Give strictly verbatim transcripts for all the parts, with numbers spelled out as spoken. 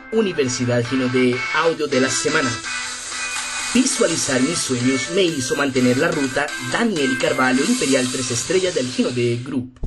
Universidad Gino de Audio de la Semana. Visualizar mis sueños me hizo mantener la ruta. Daniel Carvalho, Imperial tres estrellas del Gino de Group.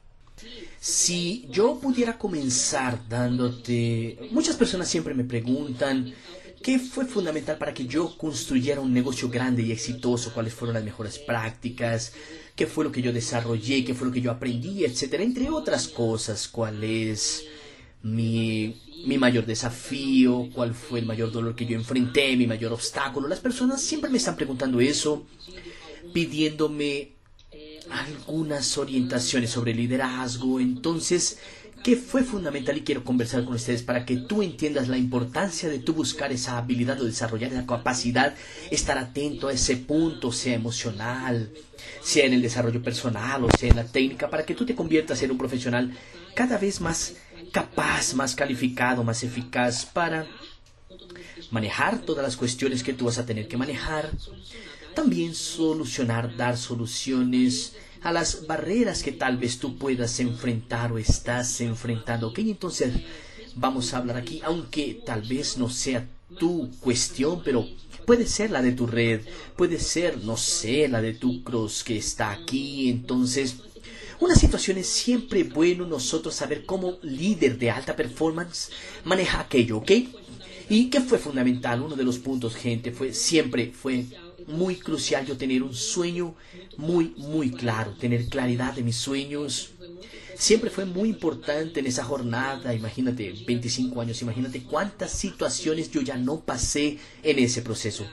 Si yo pudiera comenzar dándote... Muchas personas siempre me preguntan qué fue fundamental para que yo construyera un negocio grande y exitoso, cuáles fueron las mejores prácticas, qué fue lo que yo desarrollé, qué fue lo que yo aprendí, etcétera, entre otras cosas, cuál es mi, mi mayor desafío, cuál fue el mayor dolor que yo enfrenté, mi mayor obstáculo. Las personas siempre me están preguntando eso, pidiéndome algunas orientaciones sobre liderazgo. Entonces, ¿qué fue fundamental? Y quiero conversar con ustedes para que tú entiendas la importancia de tú buscar esa habilidad o desarrollar esa capacidad, estar atento a ese punto, sea emocional, sea en el desarrollo personal o sea en la técnica, para que tú te conviertas en un profesional cada vez más capaz, más calificado, más eficaz para manejar todas las cuestiones que tú vas a tener que manejar. También solucionar, dar soluciones a las barreras que tal vez tú puedas enfrentar o estás enfrentando. Ok, entonces vamos a hablar aquí, aunque tal vez no sea tu cuestión, pero puede ser la de tu red, puede ser, no sé, la de tu cross que está aquí. Entonces, una situación es siempre bueno nosotros saber cómo líder de alta performance maneja aquello, ¿ok? ¿Y qué fue fundamental? Uno de los puntos, gente, fue siempre fue muy crucial yo tener un sueño muy, muy claro, tener claridad de mis sueños. Siempre fue muy importante en esa jornada. Imagínate, veinticinco años, imagínate cuántas situaciones yo ya no pasé en ese proceso.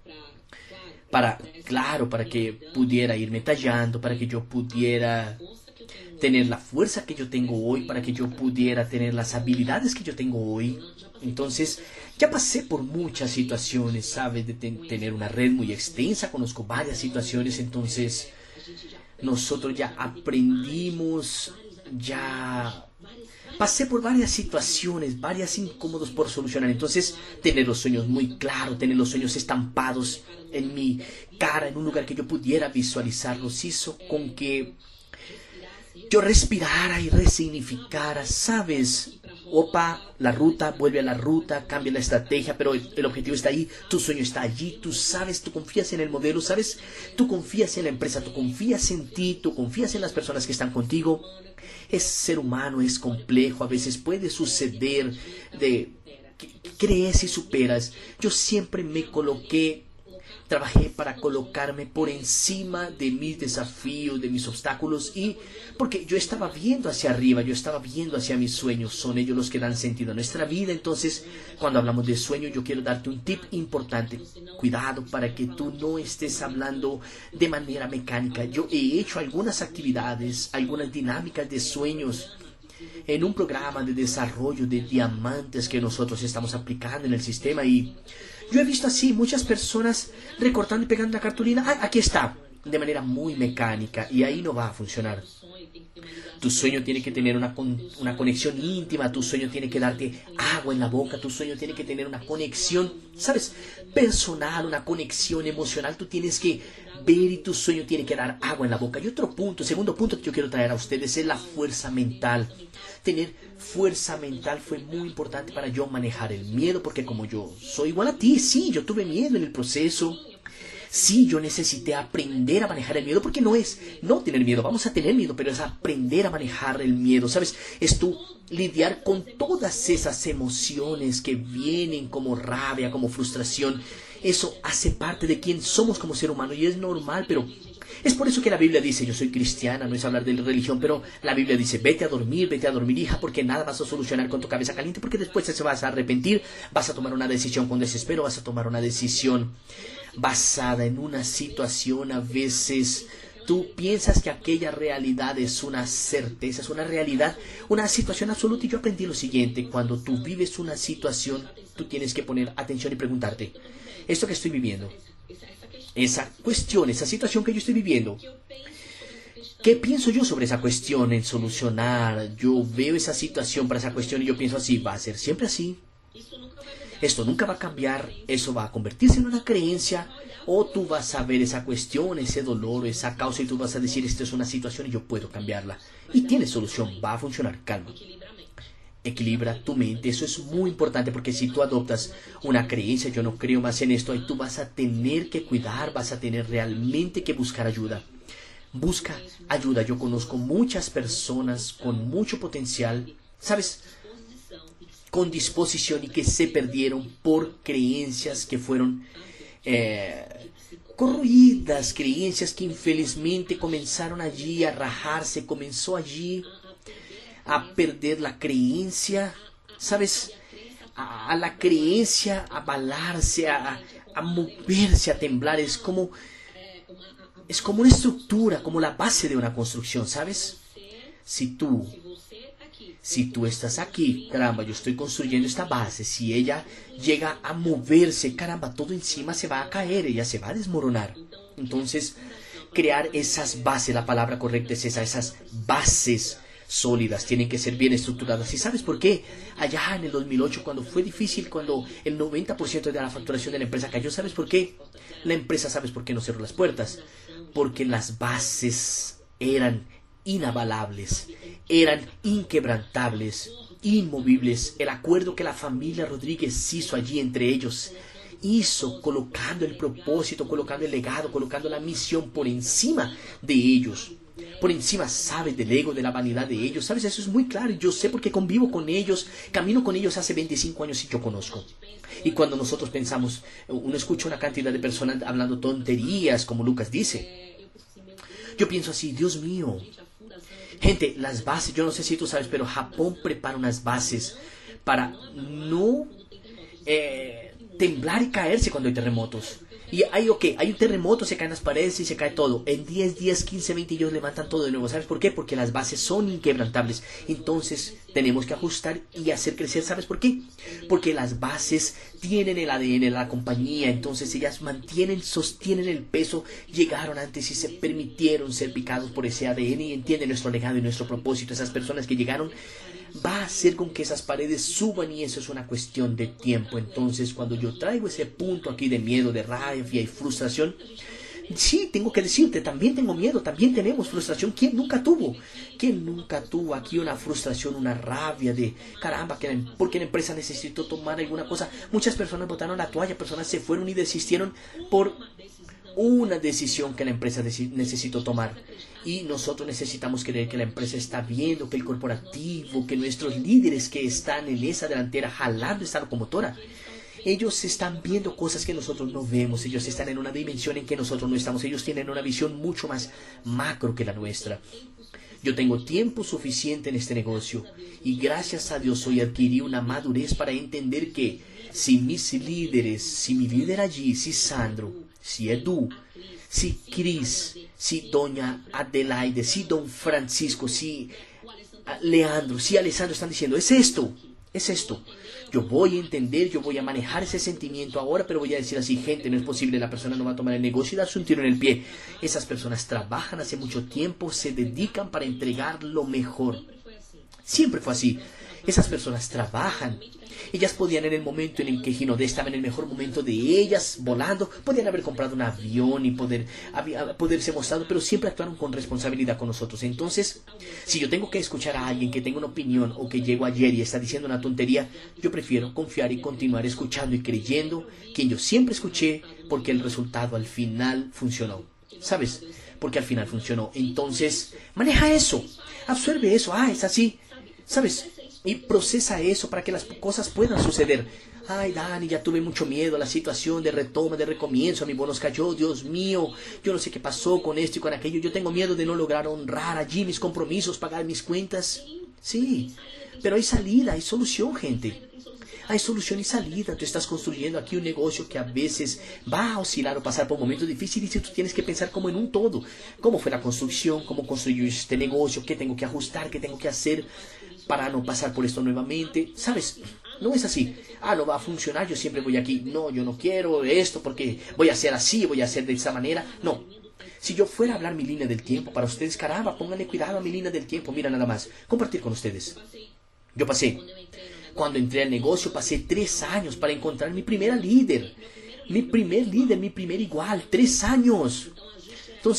Para, claro, para que pudiera irme tallando, para que yo pudiera tener la fuerza que yo tengo hoy, para que yo pudiera tener las habilidades que yo tengo hoy. Entonces, ya pasé por muchas situaciones, ¿sabes? De ten- tener una red muy extensa, conozco varias situaciones. Entonces, nosotros ya aprendimos, ya pasé por varias situaciones, varias incómodos por solucionar. Entonces, tener los sueños muy claros, tener los sueños estampados en mi cara, en un lugar que yo pudiera visualizarlos, hizo con que yo respirara y resignificara, ¿sabes? Opa, la ruta, vuelve a la ruta, cambia la estrategia, pero el, el objetivo está ahí, tu sueño está allí, tú sabes, tú confías en el modelo, ¿sabes? Tú confías en la empresa, tú confías en ti, tú confías en las personas que están contigo. Es ser humano, es complejo, a veces puede suceder de que crees y superas. Yo siempre me coloqué, trabajé para colocarme por encima de mis desafíos, de mis obstáculos, y porque yo estaba viendo hacia arriba, yo estaba viendo hacia mis sueños, son ellos los que dan sentido a nuestra vida. Entonces, cuando hablamos de sueño, yo quiero darte un tip importante. Cuidado para que tú no estés hablando de manera mecánica. Yo he hecho algunas actividades, algunas dinámicas de sueños en un programa de desarrollo de diamantes que nosotros estamos aplicando en el sistema, y yo he visto así muchas personas recortando y pegando la cartulina. Ah, aquí está, de manera muy mecánica, y ahí no va a funcionar. Tu sueño tiene que tener una, con, una conexión íntima, tu sueño tiene que darte agua en la boca, tu sueño tiene que tener una conexión, ¿sabes? Personal, una conexión emocional. Tú tienes que ver y tu sueño tiene que dar agua en la boca. Y otro punto, segundo punto que yo quiero traer a ustedes es la fuerza mental. Tener fuerza mental fue muy importante para yo manejar el miedo, porque como yo soy igual a ti, sí, yo tuve miedo en el proceso. Sí, yo necesité aprender a manejar el miedo, porque no es no tener miedo, vamos a tener miedo, pero es aprender a manejar el miedo, ¿sabes? Es tú lidiar con todas esas emociones que vienen como rabia, como frustración. Eso hace parte de quién somos como ser humano y es normal, pero es por eso que la Biblia dice, yo soy cristiana, no es hablar de religión, pero la Biblia dice, vete a dormir, vete a dormir, hija, porque nada vas a solucionar con tu cabeza caliente, porque después te vas a arrepentir, vas a tomar una decisión con desespero, vas a tomar una decisión basada en una situación. A veces tú piensas que aquella realidad es una certeza, es una realidad, una situación absoluta. Y yo aprendí lo siguiente: cuando tú vives una situación, tú tienes que poner atención y preguntarte, esto que estoy viviendo, esa cuestión, esa situación que yo estoy viviendo, ¿qué pienso yo sobre esa cuestión en solucionar? Yo veo esa situación para esa cuestión y yo pienso así, ¿va a ser siempre así? Esto nunca va a cambiar, eso va a convertirse en una creencia, o tú vas a ver esa cuestión, ese dolor, esa causa, y tú vas a decir, esto es una situación y yo puedo cambiarla. Y tiene solución, va a funcionar, calma. Equilibra tu mente, eso es muy importante porque si tú adoptas una creencia, yo no creo más en esto, ahí tú vas a tener que cuidar, vas a tener realmente que buscar ayuda. Busca ayuda, yo conozco muchas personas con mucho potencial, ¿sabes? Con disposición y que se perdieron por creencias que fueron eh, corroídas, creencias que infelizmente comenzaron allí a rajarse, comenzó allí a perder la creencia, ¿sabes? A, a la creencia a abalarse, a, a moverse, a temblar. Es como, es como una estructura, como la base de una construcción, ¿sabes? Si tú, si tú estás aquí, caramba, yo estoy construyendo esta base, si ella llega a moverse, caramba, todo encima se va a caer, ella se va a desmoronar. Entonces, crear esas bases, la palabra correcta es esa, esas bases sólidas, tienen que ser bien estructuradas. ¿Y sabes por qué? Allá en el dos mil ocho, cuando fue difícil, cuando el noventa por ciento de la facturación de la empresa cayó, ¿sabes por qué? La empresa, ¿sabes por qué no cerró las puertas? Porque las bases eran inabalables, eran inquebrantables, inmovibles. El acuerdo que la familia Rodríguez hizo allí entre ellos, hizo colocando el propósito, colocando el legado, colocando la misión por encima de ellos. Por encima, ¿sabes? Del ego, de la vanidad de ellos. ¿Sabes? Eso es muy claro. Yo sé porque convivo con ellos, camino con ellos hace veinticinco años y yo conozco. Y cuando nosotros pensamos, uno escucha una cantidad de personas hablando tonterías, como Lucas dice. Yo pienso así, Dios mío. Gente, las bases, yo no sé si tú sabes, pero Japón prepara unas bases para no eh, temblar y caerse cuando hay terremotos. Y hay, ok, hay un terremoto, se caen las paredes y se cae todo. En diez días, quince, veinte ellos levantan todo de nuevo. ¿Sabes por qué? Porque las bases son inquebrantables. Entonces tenemos que ajustar y hacer crecer. ¿Sabes por qué? Porque las bases tienen el A D N de la compañía. Entonces ellas mantienen, sostienen el peso. Llegaron antes y se permitieron ser picados por ese A D N y entienden nuestro legado y nuestro propósito. Esas personas que llegaron va a hacer con que esas paredes suban y eso es una cuestión de tiempo. Entonces cuando yo traigo ese punto aquí de miedo, de rabia y frustración, sí, tengo que decirte, también tengo miedo, también tenemos frustración. ¿Quién nunca tuvo? ¿Quién nunca tuvo aquí una frustración, una rabia de caramba, que la, porque la empresa necesitó tomar alguna cosa? Muchas personas botaron la toalla, personas se fueron y desistieron por una decisión que la empresa necesitó tomar. Y nosotros necesitamos creer que la empresa está viendo, que el corporativo, que nuestros líderes que están en esa delantera jalando esta locomotora, ellos están viendo cosas que nosotros no vemos. Ellos están en una dimensión en que nosotros no estamos. Ellos tienen una visión mucho más macro que la nuestra. Yo tengo tiempo suficiente en este negocio y gracias a Dios hoy adquirí una madurez para entender que si mis líderes, si mi líder allí, si Sandro, si Edu, si Cris, si Doña Adelaide, si Don Francisco, si Leandro, si Alessandro están diciendo, es esto, es esto. Yo voy a entender, yo voy a manejar ese sentimiento ahora, pero voy a decir así, gente, no es posible, la persona no va a tomar el negocio y darse un tiro en el pie. Esas personas trabajan hace mucho tiempo, se dedican para entregar lo mejor. Siempre fue así. Esas personas trabajan. Ellas podían en el momento en el que Ginodé estaba en el mejor momento de ellas, volando, podían haber comprado un avión y poder, había, poderse mostrado, pero siempre actuaron con responsabilidad con nosotros. Entonces, si yo tengo que escuchar a alguien que tenga una opinión o que llegó ayer y está diciendo una tontería, yo prefiero confiar y continuar escuchando y creyendo quien yo siempre escuché, porque el resultado al final funcionó. ¿Sabes? Porque al final funcionó. Entonces, maneja eso, absorbe eso. Ah, es así. ¿Sabes? Y procesa eso para que las cosas puedan suceder. Ay, Dani, ya tuve mucho miedo a la situación de retoma, de recomienzo. A mi bonus cayó, Dios mío. Yo no sé qué pasó con esto y con aquello. Yo tengo miedo de no lograr honrar allí mis compromisos, pagar mis cuentas. Sí, pero hay salida, hay solución, gente. Hay solución y salida. Tú estás construyendo aquí un negocio que a veces va a oscilar o pasar por momentos difíciles y tú tienes que pensar como en un todo. ¿Cómo fue la construcción? ¿Cómo construyó este negocio? ¿Qué tengo que ajustar? ¿Qué tengo que hacer para no pasar por esto nuevamente? ¿Sabes? No es así. Ah, no va a funcionar, yo siempre voy aquí. No, yo no quiero esto porque voy a hacer así, voy a hacer de esa manera. No. Si yo fuera a hablar mi línea del tiempo para ustedes, caramba, pónganle cuidado a mi línea del tiempo. Mira nada más, compartir con ustedes. Yo pasé, cuando entré al negocio, pasé tres años para encontrar mi primera líder. Mi primer líder, mi primer igual, tres años. Entonces,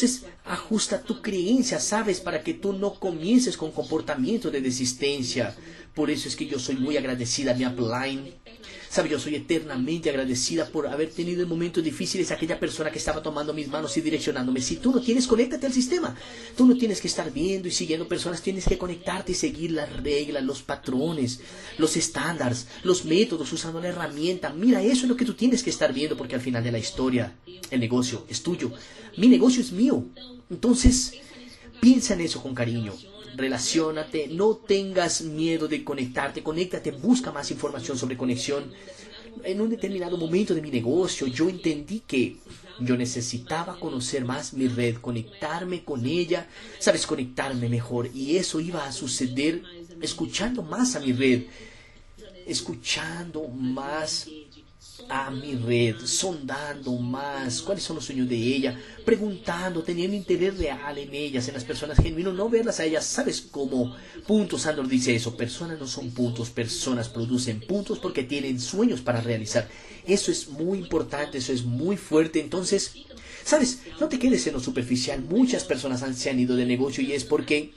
Ajusta tu creencia, ¿sabes? Para que tú no comiences con comportamiento de desistencia. Por eso es que yo soy muy agradecida a mi upline. ¿Sabe? Yo soy eternamente agradecida por haber tenido en momentos difíciles a aquella persona que estaba tomando mis manos y direccionándome. Si tú no tienes, conéctate al sistema. Tú no tienes que estar viendo y siguiendo personas. Tienes que conectarte y seguir las reglas, los patrones, los estándares, los métodos, usando la herramienta. Mira, eso es lo que tú tienes que estar viendo, porque al final de la historia, el negocio es tuyo. Mi negocio es mío. Entonces, piensa en eso con cariño. Relaciónate, no tengas miedo de conectarte, conéctate, busca más información sobre conexión. En un determinado momento de mi negocio, yo entendí que yo necesitaba conocer más mi red, conectarme con ella, sabes, conectarme mejor. Y eso iba a suceder escuchando más a mi red, escuchando más a mi red, sondando más cuáles son los sueños de ella, preguntando, teniendo interés real en ellas, en las personas genuinas, no verlas a ellas, ¿sabes cómo? Puntos, Sandor dice eso, personas no son puntos, personas producen puntos porque tienen sueños para realizar. Eso es muy importante, eso es muy fuerte. Entonces, ¿sabes? No te quedes en lo superficial. Muchas personas han, se han ido del negocio y es porque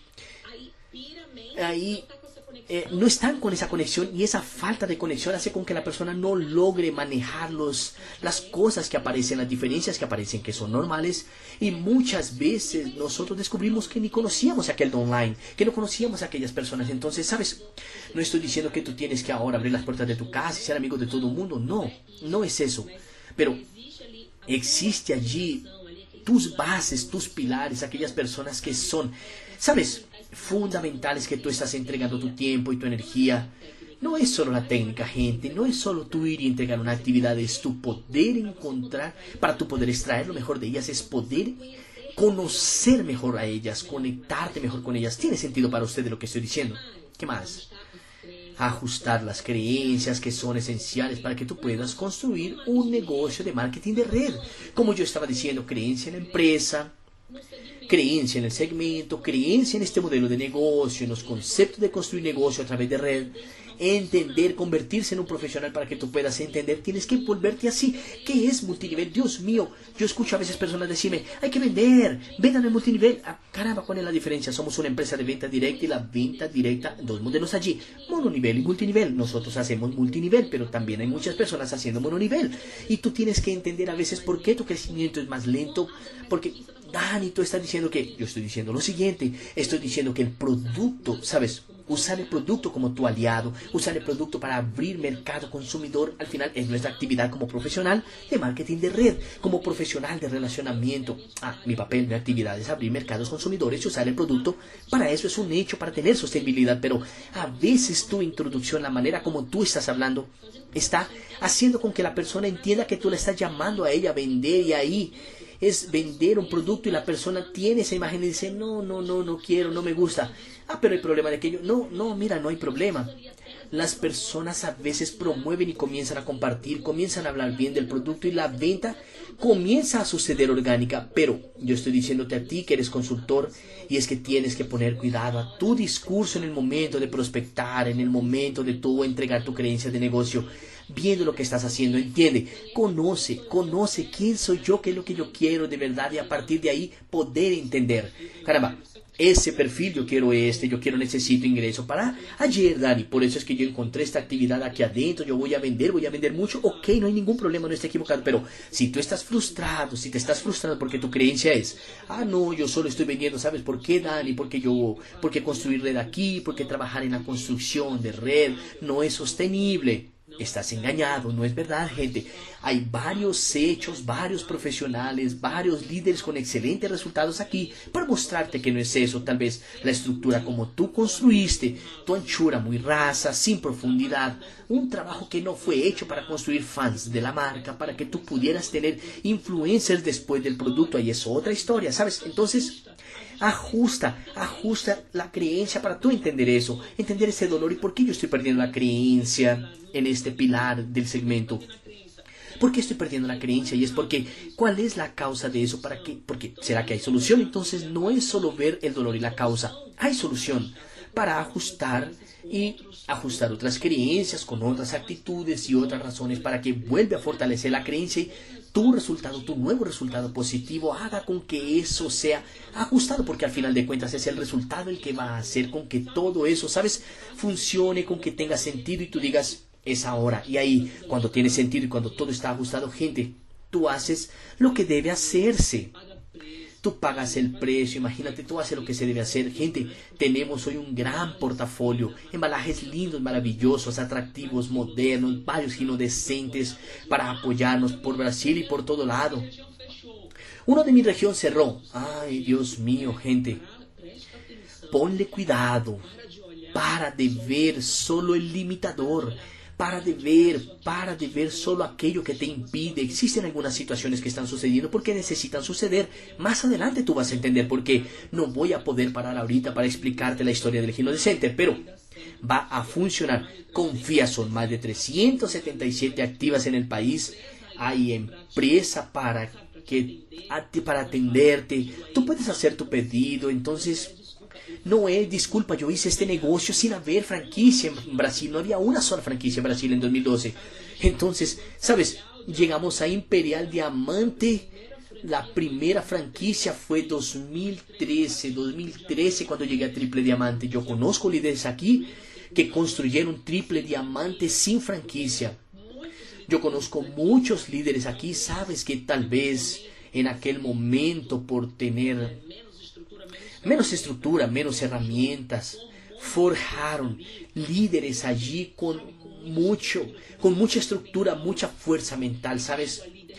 ahí Eh, no están con esa conexión, y esa falta de conexión hace con que la persona no logre manejar los, las cosas que aparecen, las diferencias que aparecen, que son normales. Y muchas veces nosotros descubrimos que ni conocíamos a aquel de online, que no conocíamos a aquellas personas. Entonces, ¿sabes? No estoy diciendo que tú tienes que ahora abrir las puertas de tu casa y ser amigo de todo el mundo. No, no es eso. Pero existe allí tus bases, tus pilares, aquellas personas que son, ¿sabes?, fundamentales, que tú estás entregando tu tiempo y tu energía. No es solo la técnica, gente, no es solo tú ir y entregar una actividad, es tu poder encontrar, para tu poder extraer lo mejor de ellas, es poder conocer mejor a ellas, conectarte mejor con ellas. ¿Tiene sentido para usted lo que estoy diciendo? ¿Qué más? Ajustar las creencias que son esenciales para que tú puedas construir un negocio de marketing de red. Como yo estaba diciendo, creencia en la empresa, creencia en el segmento, creencia en este modelo de negocio, en los conceptos de construir negocio a través de red, entender, convertirse en un profesional para que tú puedas entender. Tienes que volverte así. ¿Qué es multinivel? Dios mío, yo escucho a veces personas decirme, hay que vender, vendan en multinivel. Ah, caramba, ¿cuál es la diferencia? Somos una empresa de venta directa y la venta directa, dos modelos allí, mononivel y multinivel. Nosotros hacemos multinivel, pero también hay muchas personas haciendo mononivel. Y tú tienes que entender a veces por qué tu crecimiento es más lento, porque Dani, tú estás diciendo que, yo estoy diciendo lo siguiente, estoy diciendo que el producto, ¿sabes?, usar el producto como tu aliado, usar el producto para abrir mercado consumidor, al final es nuestra actividad como profesional de marketing de red, como profesional de relacionamiento. Ah, mi papel, mi actividad es abrir mercados consumidores y usar el producto. Para eso es un hecho, para tener sostenibilidad, pero a veces tu introducción, la manera como tú estás hablando, está haciendo con que la persona entienda que tú le estás llamando a ella a vender, y ahí es vender un producto y la persona tiene esa imagen y dice, no, no, no, no quiero, no me gusta. Ah, pero hay problema de aquello. No, no, mira, no hay problema. Las personas a veces promueven y comienzan a compartir, comienzan a hablar bien del producto y la venta comienza a suceder orgánica. Pero yo estoy diciéndote a ti que eres consultor, y es que tienes que poner cuidado a tu discurso en el momento de prospectar, en el momento de tú entregar tu creencia de negocio. Viendo lo que estás haciendo, entiende, conoce, conoce quién soy yo, qué es lo que yo quiero de verdad, y a partir de ahí poder entender. Caramba, ese perfil yo quiero este, yo quiero, necesito ingreso para ayer, Dani, por eso es que yo encontré esta actividad aquí adentro, yo voy a vender, voy a vender mucho, ok, no hay ningún problema, no estoy equivocado, pero si tú estás frustrado, si te estás frustrado porque tu creencia es, ah, no, yo solo estoy vendiendo, ¿sabes por qué, Dani? Porque yo, porque construir red aquí, porque trabajar en la construcción de red no es sostenible. Estás engañado, no es verdad, gente. Hay varios hechos, varios profesionales, varios líderes con excelentes resultados aquí para mostrarte que no es eso. Tal vez la estructura como tú construiste, tu anchura muy rasa, sin profundidad, un trabajo que no fue hecho para construir fans de la marca, para que tú pudieras tener influencers después del producto. Ahí es otra historia, ¿sabes? Entonces, ajusta, ajusta la creencia para tú entender eso, entender ese dolor y por qué yo estoy perdiendo la creencia en este pilar del segmento. ¿Por qué estoy perdiendo la creencia? Y es porque, ¿cuál es la causa de eso? ¿Para qué? Porque, ¿será que hay solución? Entonces no es solo ver el dolor y la causa, hay solución. para ajustar y ajustar otras creencias con otras actitudes y otras razones para que vuelva a fortalecer la creencia y tu resultado, tu nuevo resultado positivo haga con que eso sea ajustado, porque al final de cuentas es el resultado el que va a hacer con que todo eso, ¿sabes?, funcione, con que tenga sentido y tú digas, es ahora. Y ahí, cuando tiene sentido y cuando todo está ajustado, gente, tú haces lo que debe hacerse. Tú pagas el precio, imagínate, tú haces lo que se debe hacer. Gente, tenemos hoy un gran portafolio, embalajes lindos, maravillosos, atractivos, modernos, varios ginos decentes para apoyarnos por Brasil y por todo lado. Uno de mi región cerró. Ay, Dios mío, gente. Ponle cuidado. Para de ver solo el limitador. Para de ver, para de ver solo aquello que te impide. Existen algunas situaciones que están sucediendo porque necesitan suceder. Más adelante tú vas a entender por qué. No voy a poder parar ahorita para explicarte la historia del Gino Decente, pero va a funcionar. Confía, son más de trescientas setenta y siete activas en el país. Hay empresa para, que, para atenderte. Tú puedes hacer tu pedido, entonces... No es, disculpa, yo hice este negocio sin haber franquicia en Brasil. No había una sola franquicia en Brasil en dos mil doce. Entonces, ¿sabes? Llegamos a Imperial Diamante. La primera franquicia fue dos mil trece. dos mil trece cuando llegué a Triple Diamante. Yo conozco líderes aquí que construyeron Triple Diamante sin franquicia. Yo conozco muchos líderes aquí. Sabes que tal vez en aquel momento por tener... menos estructura, menos herramientas, forjaron líderes allí con mucho, con mucha estructura, mucha fuerza mental, ¿sabes?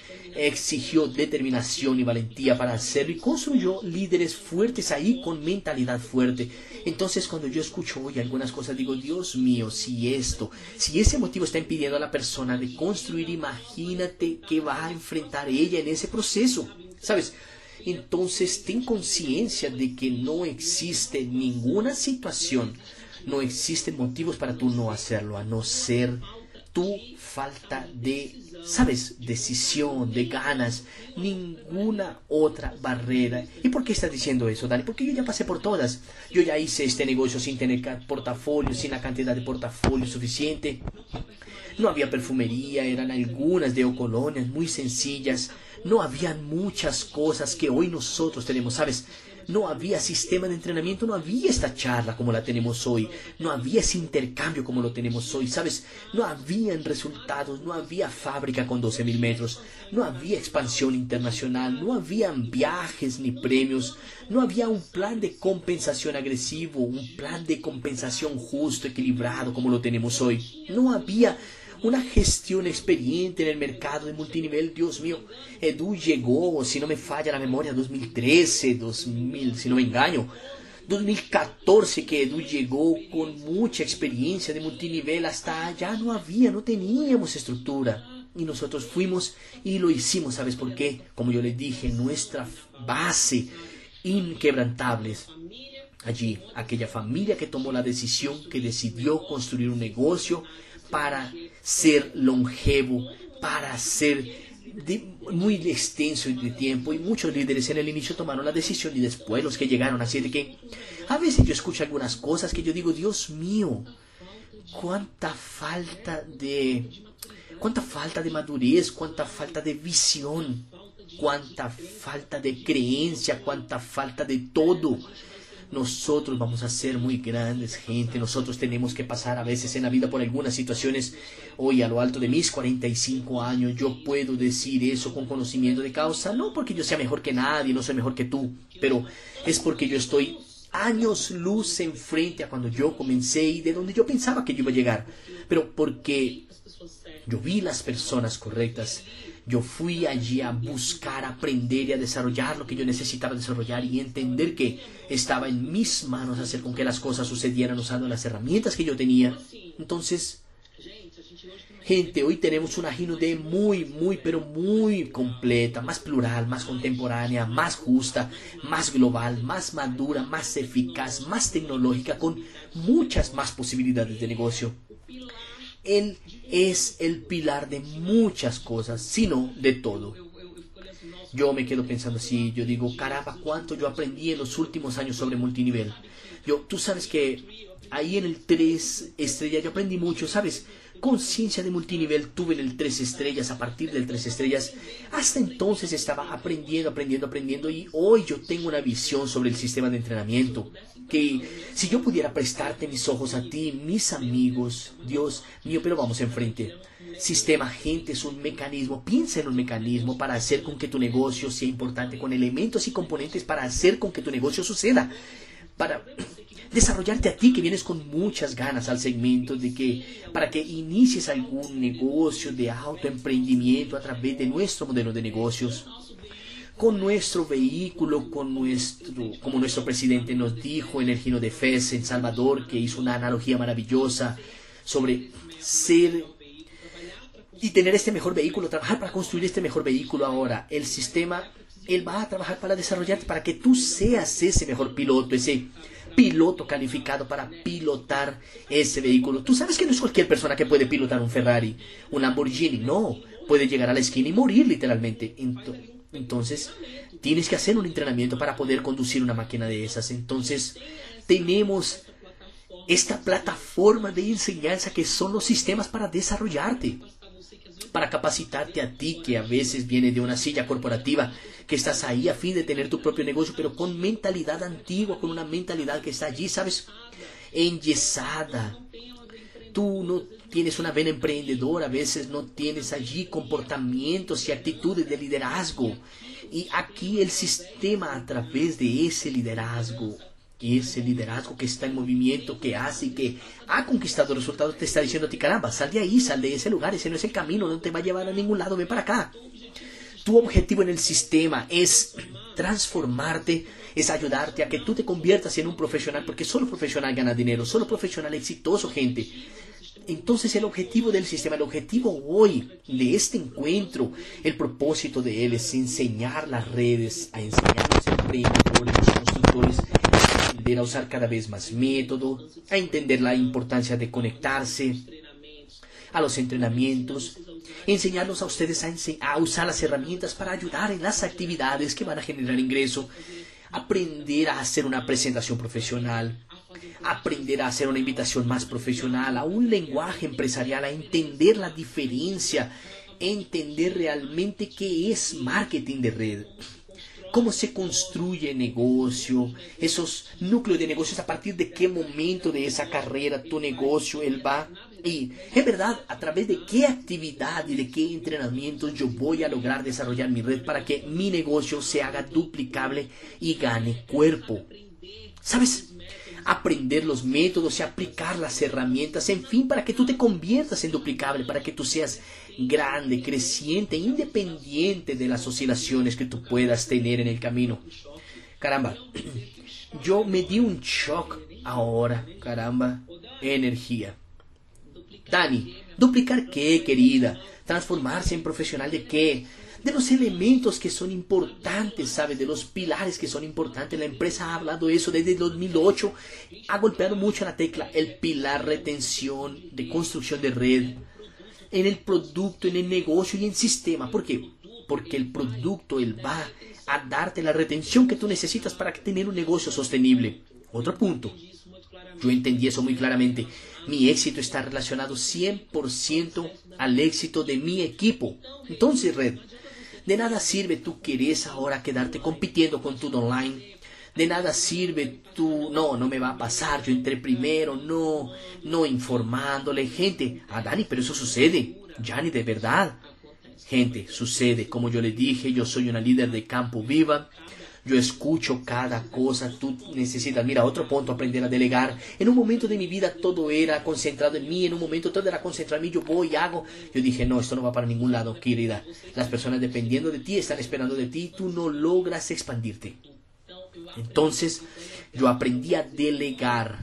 Exigió determinación y valentía para hacerlo y construyó líderes fuertes ahí con mentalidad fuerte. Entonces cuando yo escucho hoy algunas cosas digo, Dios mío, si esto, si ese motivo está impidiendo a la persona de construir, imagínate que va a enfrentar ella en ese proceso, ¿sabes? Entonces ten conciencia de que no existe ninguna situación, no existen motivos para tú no hacerlo, a no ser tu falta de, ¿sabes?, decisión, de ganas, ninguna otra barrera. ¿Y por qué estás diciendo eso, Dani? Porque yo ya pasé por todas. Yo ya hice este negocio sin tener portafolio, sin la cantidad de portafolio suficiente. No había perfumería, eran algunas de colonias muy sencillas. No habían muchas cosas que hoy nosotros tenemos, ¿sabes? No había sistema de entrenamiento, no había esta charla como la tenemos hoy, no había ese intercambio como lo tenemos hoy, ¿sabes? No habían resultados, no había fábrica con doce mil metros, no había expansión internacional, no habían viajes ni premios, no había un plan de compensación agresivo, un plan de compensación justo, equilibrado como lo tenemos hoy. No había una gestión experiente en el mercado de multinivel. Dios mío, Edu llegó, si no me falla la memoria, dos mil trece, dos mil, si no me engaño, dos mil catorce que Edu llegó con mucha experiencia de multinivel. Hasta allá no había, no teníamos estructura. Y nosotros fuimos y lo hicimos, ¿sabes por qué? Como yo les dije, nuestra base inquebrantable. Allí, aquella familia que tomó la decisión, que decidió construir un negocio para ser longevo, para ser de, muy extenso de tiempo, y muchos líderes en el inicio tomaron la decisión y después los que llegaron, así de que a veces yo escucho algunas cosas que yo digo, Dios mío, cuánta falta de cuánta falta de madurez, cuánta falta de visión, cuánta falta de creencia, cuánta falta de todo. Nosotros vamos a ser muy grandes, gente. Nosotros tenemos que pasar a veces en la vida por algunas situaciones. Hoy, a lo alto de mis cuarenta y cinco años, yo puedo decir eso con conocimiento de causa. No porque yo sea mejor que nadie, no soy mejor que tú, pero es porque yo estoy años luz enfrente a cuando yo comencé y de donde yo pensaba que yo iba a llegar. Pero porque yo vi las personas correctas. Yo fui allí a buscar, a aprender y a desarrollar lo que yo necesitaba desarrollar y entender que estaba en mis manos hacer con que las cosas sucedieran usando las herramientas que yo tenía. Entonces, gente, hoy tenemos una Gino D muy, muy, pero muy completa, más plural, más contemporánea, más justa, más global, más madura, más eficaz, más tecnológica, con muchas más posibilidades de negocio. Él es el pilar de muchas cosas, sino de todo. Yo me quedo pensando así, yo digo, caramba, cuánto yo aprendí en los últimos años sobre multinivel. Yo, tú sabes que ahí en el tres estrellas yo aprendí mucho, ¿sabes? Conciencia de multinivel tuve en el tres estrellas, a partir del tres estrellas. Hasta entonces estaba aprendiendo, aprendiendo, aprendiendo y hoy yo tengo una visión sobre el sistema de entrenamiento. Que si yo pudiera prestarte mis ojos a ti, mis amigos, Dios mío, pero vamos enfrente. Sistema, gente, es un mecanismo. Piensa en un mecanismo para hacer con que tu negocio sea importante, con elementos y componentes para hacer con que tu negocio suceda. Para desarrollarte a ti que vienes con muchas ganas al segmento, de que para que inicies algún negocio de autoemprendimiento a través de nuestro modelo de negocios, con nuestro vehículo, con nuestro, como nuestro presidente nos dijo en el Gino de Fez en Salvador, que hizo una analogía maravillosa sobre ser y tener este mejor vehículo, trabajar para construir este mejor vehículo. Ahora el sistema, él va a trabajar para desarrollarte, para que tú seas ese mejor piloto, ese piloto calificado para pilotar ese vehículo. Tú sabes que no es cualquier persona que puede pilotar un Ferrari, un Lamborghini, no, puede llegar a la esquina y morir literalmente. Entonces tienes que hacer un entrenamiento para poder conducir una máquina de esas. Entonces tenemos esta plataforma de enseñanza que son los sistemas para desarrollarte, para capacitarte a ti que a veces viene de una silla corporativa, que estás ahí a fin de tener tu propio negocio, pero con mentalidad antigua, con una mentalidad que está allí, ¿sabes? Enyesada. Tú no tienes una vena emprendedora, a veces no tienes allí comportamientos y actitudes de liderazgo. Y aquí el sistema, a través de ese liderazgo, ese liderazgo que está en movimiento, que hace y que ha conquistado resultados, te está diciendo a ti, caramba, sal de ahí, sal de ese lugar, ese no es el camino, no te va a llevar a ningún lado, ven para acá. Tu objetivo en el sistema es transformarte, es ayudarte a que tú te conviertas en un profesional, porque solo profesional gana dinero, solo profesional exitoso, gente. Entonces el objetivo del sistema, el objetivo hoy de este encuentro, el propósito de él es enseñar las redes, a enseñar a los emprendedores, a los constructores, a aprender a usar cada vez más método, a entender la importancia de conectarse a los entrenamientos, enseñarlos a ustedes a, ense a usar las herramientas para ayudar en las actividades que van a generar ingreso, aprender a hacer una presentación profesional, aprender a hacer una invitación más profesional, a un lenguaje empresarial, a entender la diferencia, entender realmente qué es marketing de red, cómo se construye negocio, esos núcleos de negocios, a partir de qué momento de esa carrera tu negocio él va. Y en verdad, a través de qué actividad y de qué entrenamientos yo voy a lograr desarrollar mi red para que mi negocio se haga duplicable y gane cuerpo. ¿Sabes? Aprender los métodos y aplicar las herramientas, en fin, para que tú te conviertas en duplicable, para que tú seas grande, creciente, independiente de las oscilaciones que tú puedas tener en el camino. Caramba, yo me di un shock ahora, caramba, energía. Dani, ¿duplicar qué, querida? ¿Transformarse en profesional de qué? De los elementos que son importantes, ¿sabes? De los pilares que son importantes. La empresa ha hablado de eso desde el dos mil ocho. Ha golpeado mucho la tecla. El pilar retención, de construcción de red. En el producto, en el negocio y en sistema. ¿Por qué? Porque el producto, él va a darte la retención que tú necesitas para tener un negocio sostenible. Otro punto. Yo entendí eso muy claramente. Mi éxito está relacionado cien por ciento al éxito de mi equipo. Entonces, red, de nada sirve tú querés ahora quedarte compitiendo con tu online. De nada sirve tú, no, no me va a pasar, yo entré primero, no, no informándole. Gente, ah, Dani, pero eso sucede. Jani, de verdad. Gente, sucede. Como yo le dije, yo soy una líder de campo viva. Yo escucho cada cosa, tú necesitas, mira, otro punto, aprender a delegar. En un momento de mi vida todo era concentrado en mí, en un momento todo era concentrado en mí, yo voy, hago. Yo dije, no, esto no va para ningún lado, querida. Las personas dependiendo de ti, están esperando de ti, tú no logras expandirte. Entonces, yo aprendí a delegar.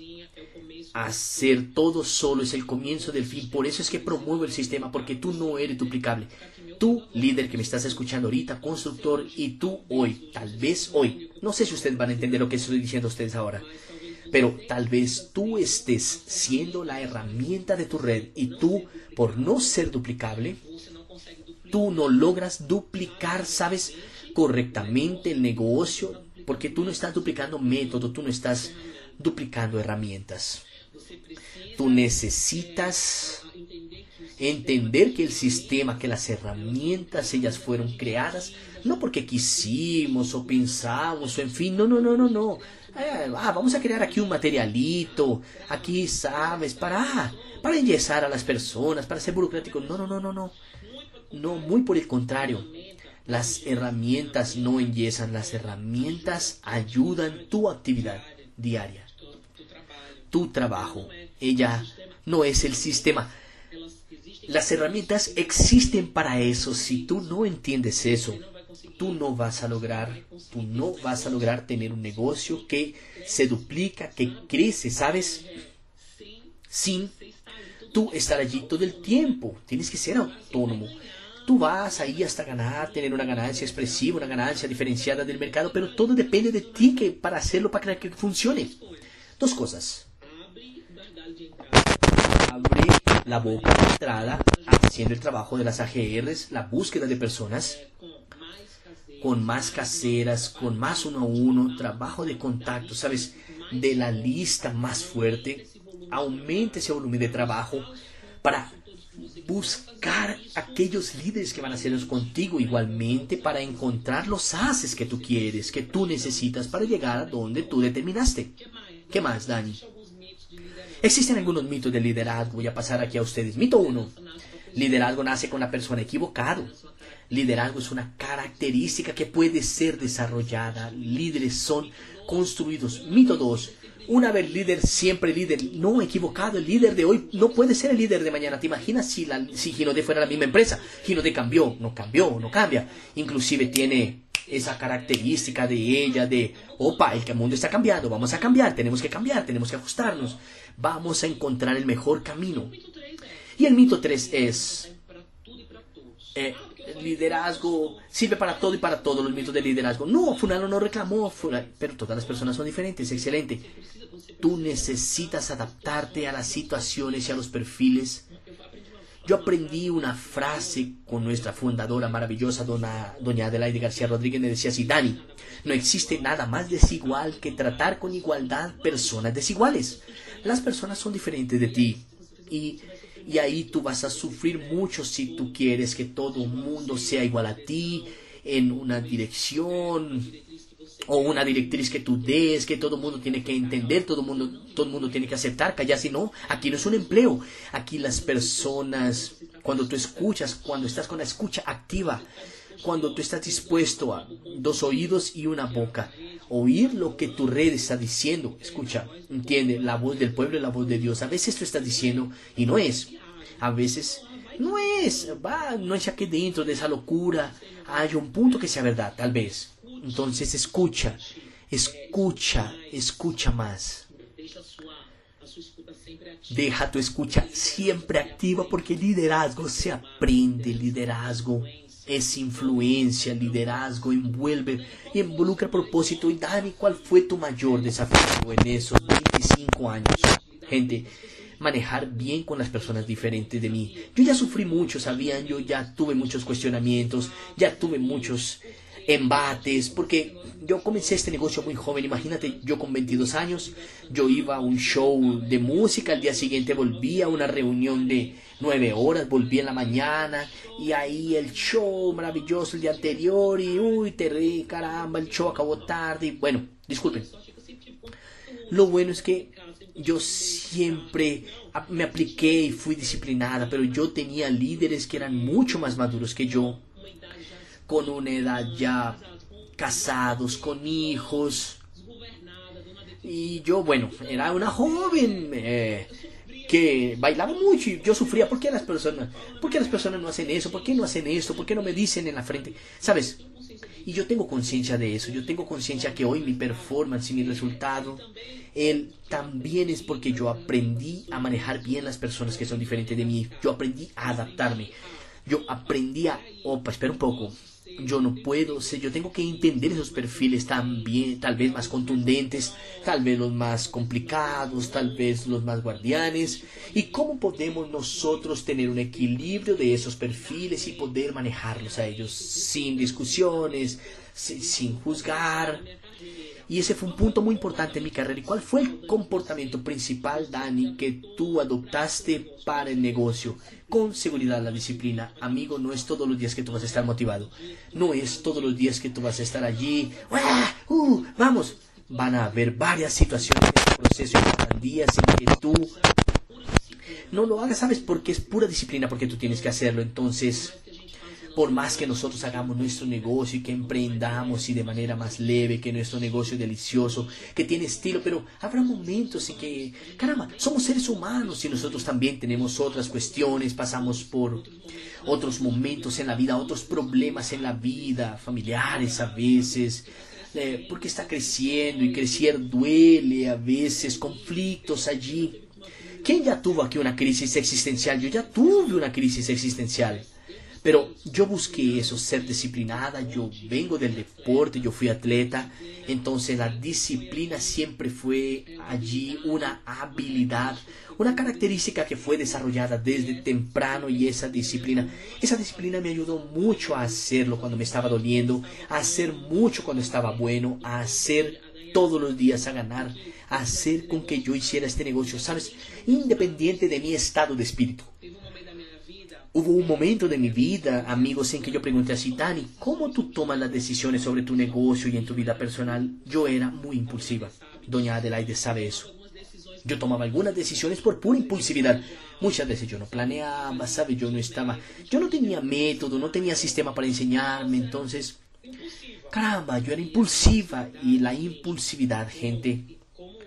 Hacer todo solo es el comienzo del fin. Por eso es que promuevo el sistema, porque tú no eres duplicable. Tú, líder que me estás escuchando ahorita, constructor, y tú hoy, tal vez hoy, no sé si ustedes van a entender lo que estoy diciendo a ustedes ahora, pero tal vez tú estés siendo la herramienta de tu red y tú, por no ser duplicable, tú no logras duplicar, ¿sabes?, correctamente el negocio, porque tú no estás duplicando método, tú no estás duplicando herramientas. Tú necesitas entender que el sistema, que las herramientas, ellas fueron creadas no porque quisimos o pensamos o en fin, no, no, no, no, no. Eh, ah, vamos a crear aquí un materialito, aquí, ¿sabes? Para, para enyesar a las personas, para ser burocrático. No, no, no, no, no. No, muy por el contrario. Las herramientas no enyesan, las herramientas ayudan tu actividad diaria, tu trabajo. Ella no es el sistema. Las herramientas existen para eso. Si tú no entiendes eso, tú no vas a lograr, tú no vas a lograr tener un negocio que se duplica, que crece, ¿sabes? Sin tú estar allí todo el tiempo. Tienes que ser autónomo. Tú vas ahí hasta ganar, tener una ganancia expresiva, una ganancia diferenciada del mercado, pero todo depende de ti que para hacerlo, para que funcione. Dos cosas. Abre la boca de entrada, haciendo el trabajo de las A G Rs, la búsqueda de personas, con más caseras, con más uno a uno, trabajo de contacto, ¿sabes? De la lista más fuerte, aumente ese volumen de trabajo para buscar aquellos líderes que van a hacerlos contigo, igualmente para encontrar los haces que tú quieres, que tú necesitas para llegar a donde tú determinaste. ¿Qué más, Dani? Existen algunos mitos de liderazgo. Voy a pasar aquí a ustedes. Mito uno. Liderazgo nace con la persona equivocada. Liderazgo es una característica que puede ser desarrollada. Líderes son construidos. Mito dos. Una vez líder, siempre líder. No, equivocado. El líder de hoy no puede ser el líder de mañana. ¿Te imaginas si, la, si Ginode fuera la misma empresa? Ginode cambió, no cambió, no cambia. Inclusive tiene esa característica de ella, de, opa, el mundo está cambiando, vamos a cambiar, tenemos que cambiar, tenemos que ajustarnos. Vamos a encontrar el mejor camino. Y el mito tres es, eh, liderazgo sirve para todo y para todo. Los mitos de liderazgo. No, fulano no reclamó, fulano, pero todas las personas son diferentes, excelente. Tú necesitas adaptarte a las situaciones y a los perfiles. Yo aprendí una frase con nuestra fundadora maravillosa, dona, doña Adelaide García Rodríguez, me decía así: Dani, no existe nada más desigual que tratar con igualdad personas desiguales. Las personas son diferentes de ti y, y ahí tú vas a sufrir mucho si tú quieres que todo el mundo sea igual a ti en una dirección o una directriz que tú des, que todo el mundo tiene que entender, todo el mundo, todo el mundo tiene que aceptar, callar, si no, aquí no es un empleo. Aquí las personas, cuando tú escuchas, cuando estás con la escucha activa, cuando tú estás dispuesto a dos oídos y una boca, oír lo que tu red está diciendo, escucha, entiende, la voz del pueblo y la voz de Dios. A veces tú estás diciendo y no es, a veces no es, va, no es aquí dentro de esa locura, hay un punto que sea verdad, tal vez. Entonces escucha, escucha, escucha más. Deja tu escucha siempre activa, porque liderazgo se aprende, liderazgo es influencia, liderazgo envuelve y involucra propósito. Y Dani, ¿cuál fue tu mayor desafío en esos veinticinco años? Gente, manejar bien con las personas diferentes de mí. Yo ya sufrí mucho, ¿sabían? Yo ya tuve muchos cuestionamientos, ya tuve muchos embates, porque yo comencé este negocio muy joven. Imagínate, yo con veintidós años, yo iba a un show de música, al día siguiente volvía a una reunión de nueve horas, volví en la mañana, y ahí el show maravilloso el día anterior, y uy, te re, caramba, el show acabó tarde, y bueno, disculpen. Lo bueno es que yo siempre me apliqué y fui disciplinada, pero yo tenía líderes que eran mucho más maduros que yo, con una edad ya, casados, con hijos. Y yo, bueno, era una joven eh, que bailaba mucho y yo sufría. ¿Por qué las personas? ¿Por qué las personas no hacen eso? ¿Por qué no hacen esto? ¿Por qué no me dicen en la frente? ¿Sabes? Y yo tengo conciencia de eso. Yo tengo conciencia que hoy mi performance y mi resultado, él también es porque yo aprendí a manejar bien las personas que son diferentes de mí. Yo aprendí a adaptarme. Yo aprendí a... Opa, espera un poco. yo no puedo, sé, yo tengo que entender esos perfiles también, tal vez más contundentes, tal vez los más complicados, tal vez los más guardianes, y cómo podemos nosotros tener un equilibrio de esos perfiles y poder manejarlos a ellos sin discusiones, sin, sin juzgar. Y ese fue un punto muy importante en mi carrera. ¿Y cuál fue el comportamiento principal, Dani, que tú adoptaste para el negocio? Con seguridad, la disciplina. Amigo, no es todos los días que tú vas a estar motivado. No es todos los días que tú vas a estar allí. ¡Ah! ¡Uh! ¡Vamos! Van a haber varias situaciones en el proceso y habrán días en que tú no lo hagas, ¿sabes? Porque es pura disciplina, porque tú tienes que hacerlo. Entonces, por más que nosotros hagamos nuestro negocio y que emprendamos y de manera más leve, que nuestro negocio es delicioso, que tiene estilo, pero habrá momentos en que, caramba, somos seres humanos y nosotros también tenemos otras cuestiones, pasamos por otros momentos en la vida, otros problemas en la vida, familiares a veces, eh, porque está creciendo y crecer duele a veces, conflictos allí. ¿Quién ya tuvo aquí una crisis existencial? Yo ya tuve una crisis existencial. Pero yo busqué eso, ser disciplinada, yo vengo del deporte, yo fui atleta, entonces la disciplina siempre fue allí una habilidad, una característica que fue desarrollada desde temprano y esa disciplina, esa disciplina me ayudó mucho a hacerlo cuando me estaba doliendo, a hacer mucho cuando estaba bueno, a hacer todos los días, a ganar, a hacer con que yo hiciera este negocio, ¿sabes? Independiente de mi estado de espíritu. Hubo un momento de mi vida, amigos, en que yo pregunté así, Dani, ¿cómo tú tomas las decisiones sobre tu negocio y en tu vida personal? Yo era muy impulsiva. Doña Adelaide sabe eso. Yo tomaba algunas decisiones por pura impulsividad. Muchas veces yo no planeaba, ¿sabe? Yo no estaba, yo no tenía método, no tenía sistema para enseñarme, entonces, caramba, yo era impulsiva. Y la impulsividad, gente,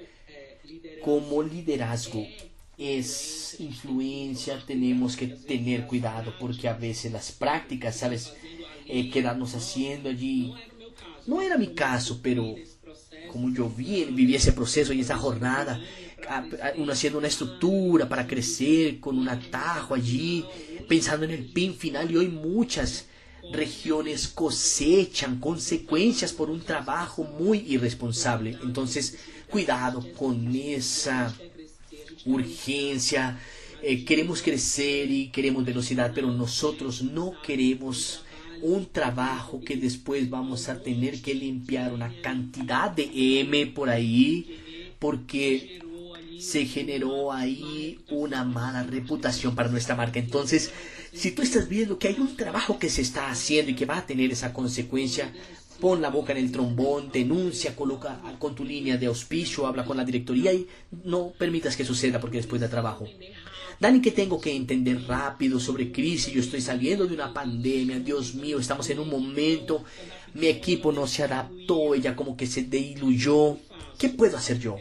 como liderazgo, es influencia, tenemos que tener cuidado porque a veces las prácticas, ¿sabes? Eh, quedarnos haciendo allí. No era mi caso, pero como yo vi, viví ese proceso y esa jornada, uno haciendo una estructura para crecer con un atajo allí, pensando en el pin final, y hoy muchas regiones cosechan consecuencias por un trabajo muy irresponsable. Entonces, cuidado con esa urgencia, eh, queremos crecer y queremos velocidad, pero nosotros no queremos un trabajo que después vamos a tener que limpiar una cantidad de M por ahí, porque se generó ahí una mala reputación para nuestra marca. Entonces, si tú estás viendo que hay un trabajo que se está haciendo y que va a tener esa consecuencia, pon la boca en el trombón, denuncia, coloca con tu línea de auspicio, habla con la directoría y no permitas que suceda porque después da trabajo. Dani, ¿qué tengo que entender rápido sobre crisis? Yo estoy saliendo de una pandemia, Dios mío, estamos en un momento, mi equipo no se adaptó, ella como que se diluyó. ¿Qué puedo hacer yo?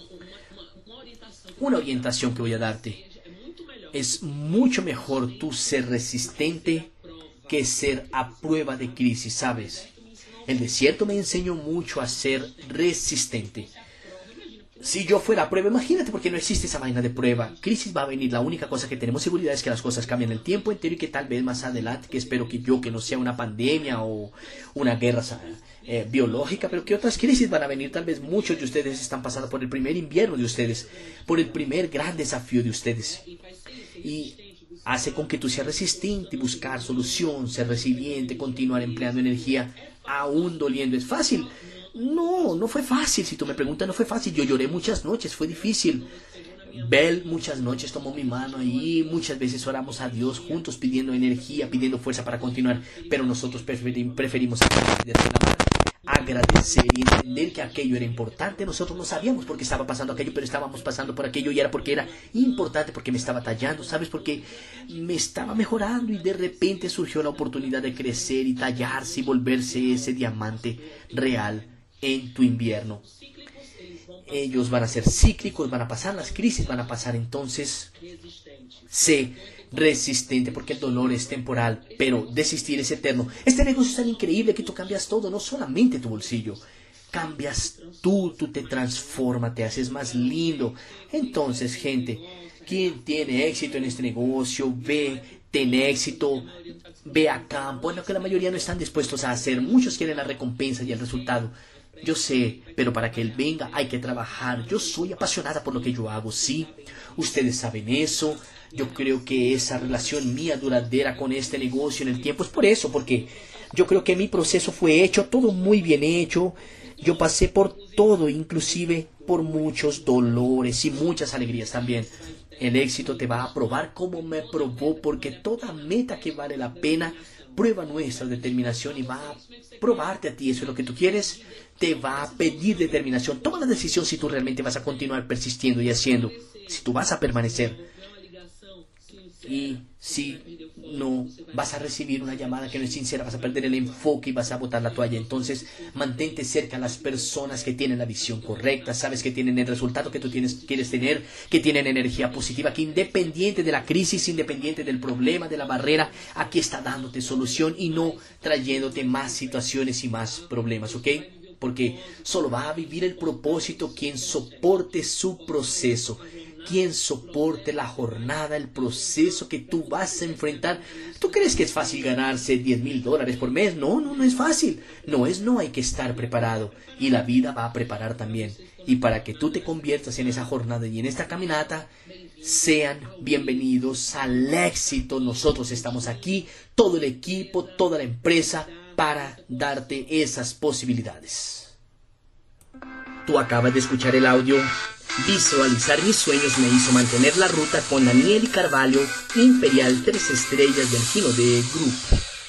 Una orientación que voy a darte. Es mucho mejor tú ser resistente que ser a prueba de crisis, ¿sabes? El desierto me enseñó mucho a ser resistente. Si yo fuera a prueba, imagínate, porque no existe esa vaina de prueba. Crisis va a venir, la única cosa que tenemos seguridad es que las cosas cambian el tiempo entero y que tal vez más adelante, que espero que yo, que no sea una pandemia o una guerra eh, biológica, pero que otras crisis van a venir. Tal vez muchos de ustedes están pasando por el primer invierno de ustedes, por el primer gran desafío de ustedes. Y hace con que tú seas resistente, buscar solución, ser resiliente, continuar empleando energía, aún doliendo. ¿Es fácil? No, no fue fácil. Si tú me preguntas, no fue fácil. Yo lloré muchas noches, fue difícil. Bel muchas noches tomó mi mano ahí, muchas veces oramos a Dios juntos pidiendo energía, pidiendo fuerza para continuar, pero nosotros preferim, preferimos agradecer y entender que aquello era importante. Nosotros no sabíamos por qué estaba pasando aquello, pero estábamos pasando por aquello y era porque era importante, porque me estaba tallando, ¿sabes? Porque me estaba mejorando y de repente surgió la oportunidad de crecer y tallarse y volverse ese diamante real en tu invierno. Ellos van a ser cíclicos, van a pasar las crisis, van a pasar, entonces sé resistente porque el dolor es temporal, pero desistir es eterno. Este negocio es tan increíble que tú cambias todo, no solamente tu bolsillo, cambias tú, tú te transformas, te haces más lindo. Entonces, gente, quien tiene éxito en este negocio ve ten éxito, ve a campo, es lo que la mayoría no están dispuestos a hacer. Muchos quieren la recompensa y el resultado. Yo sé, pero para que él venga hay que trabajar. Yo soy apasionada por lo que yo hago, sí. Ustedes saben eso. Yo creo que esa relación mía duradera con este negocio en el tiempo es por eso, porque yo creo que mi proceso fue hecho, todo muy bien hecho. Yo pasé por todo, inclusive por muchos dolores y muchas alegrías también. El éxito te va a probar como me probó, porque toda meta que vale la pena prueba nuestra determinación y va a probarte a ti. Eso es lo que tú quieres, te va a pedir determinación. Toma la decisión si tú realmente vas a continuar persistiendo y haciendo, si tú vas a permanecer. Y si no, vas a recibir una llamada que no es sincera, vas a perder el enfoque y vas a botar la toalla. Entonces, mantente cerca a las personas que tienen la visión correcta, sabes que tienen el resultado que tú tienes, quieres tener, que tienen energía positiva, que independiente de la crisis, independiente del problema, de la barrera, aquí está dándote solución y no trayéndote más situaciones y más problemas, ¿ok? Porque solo va a vivir el propósito quien soporte su proceso, quien soporte la jornada, el proceso que tú vas a enfrentar. ¿Tú crees que es fácil ganarse diez mil dólares por mes? No, no, no es fácil. No es, no, hay que estar preparado. Y la vida va a preparar también. Y para que tú te conviertas en esa jornada y en esta caminata, sean bienvenidos al éxito. Nosotros estamos aquí, todo el equipo, toda la empresa, para darte esas posibilidades. Tú acabas de escuchar el audio Visualizar mis sueños me hizo mantener la ruta con Daniel Carvalho, Imperial tres estrellas del Gino de Group.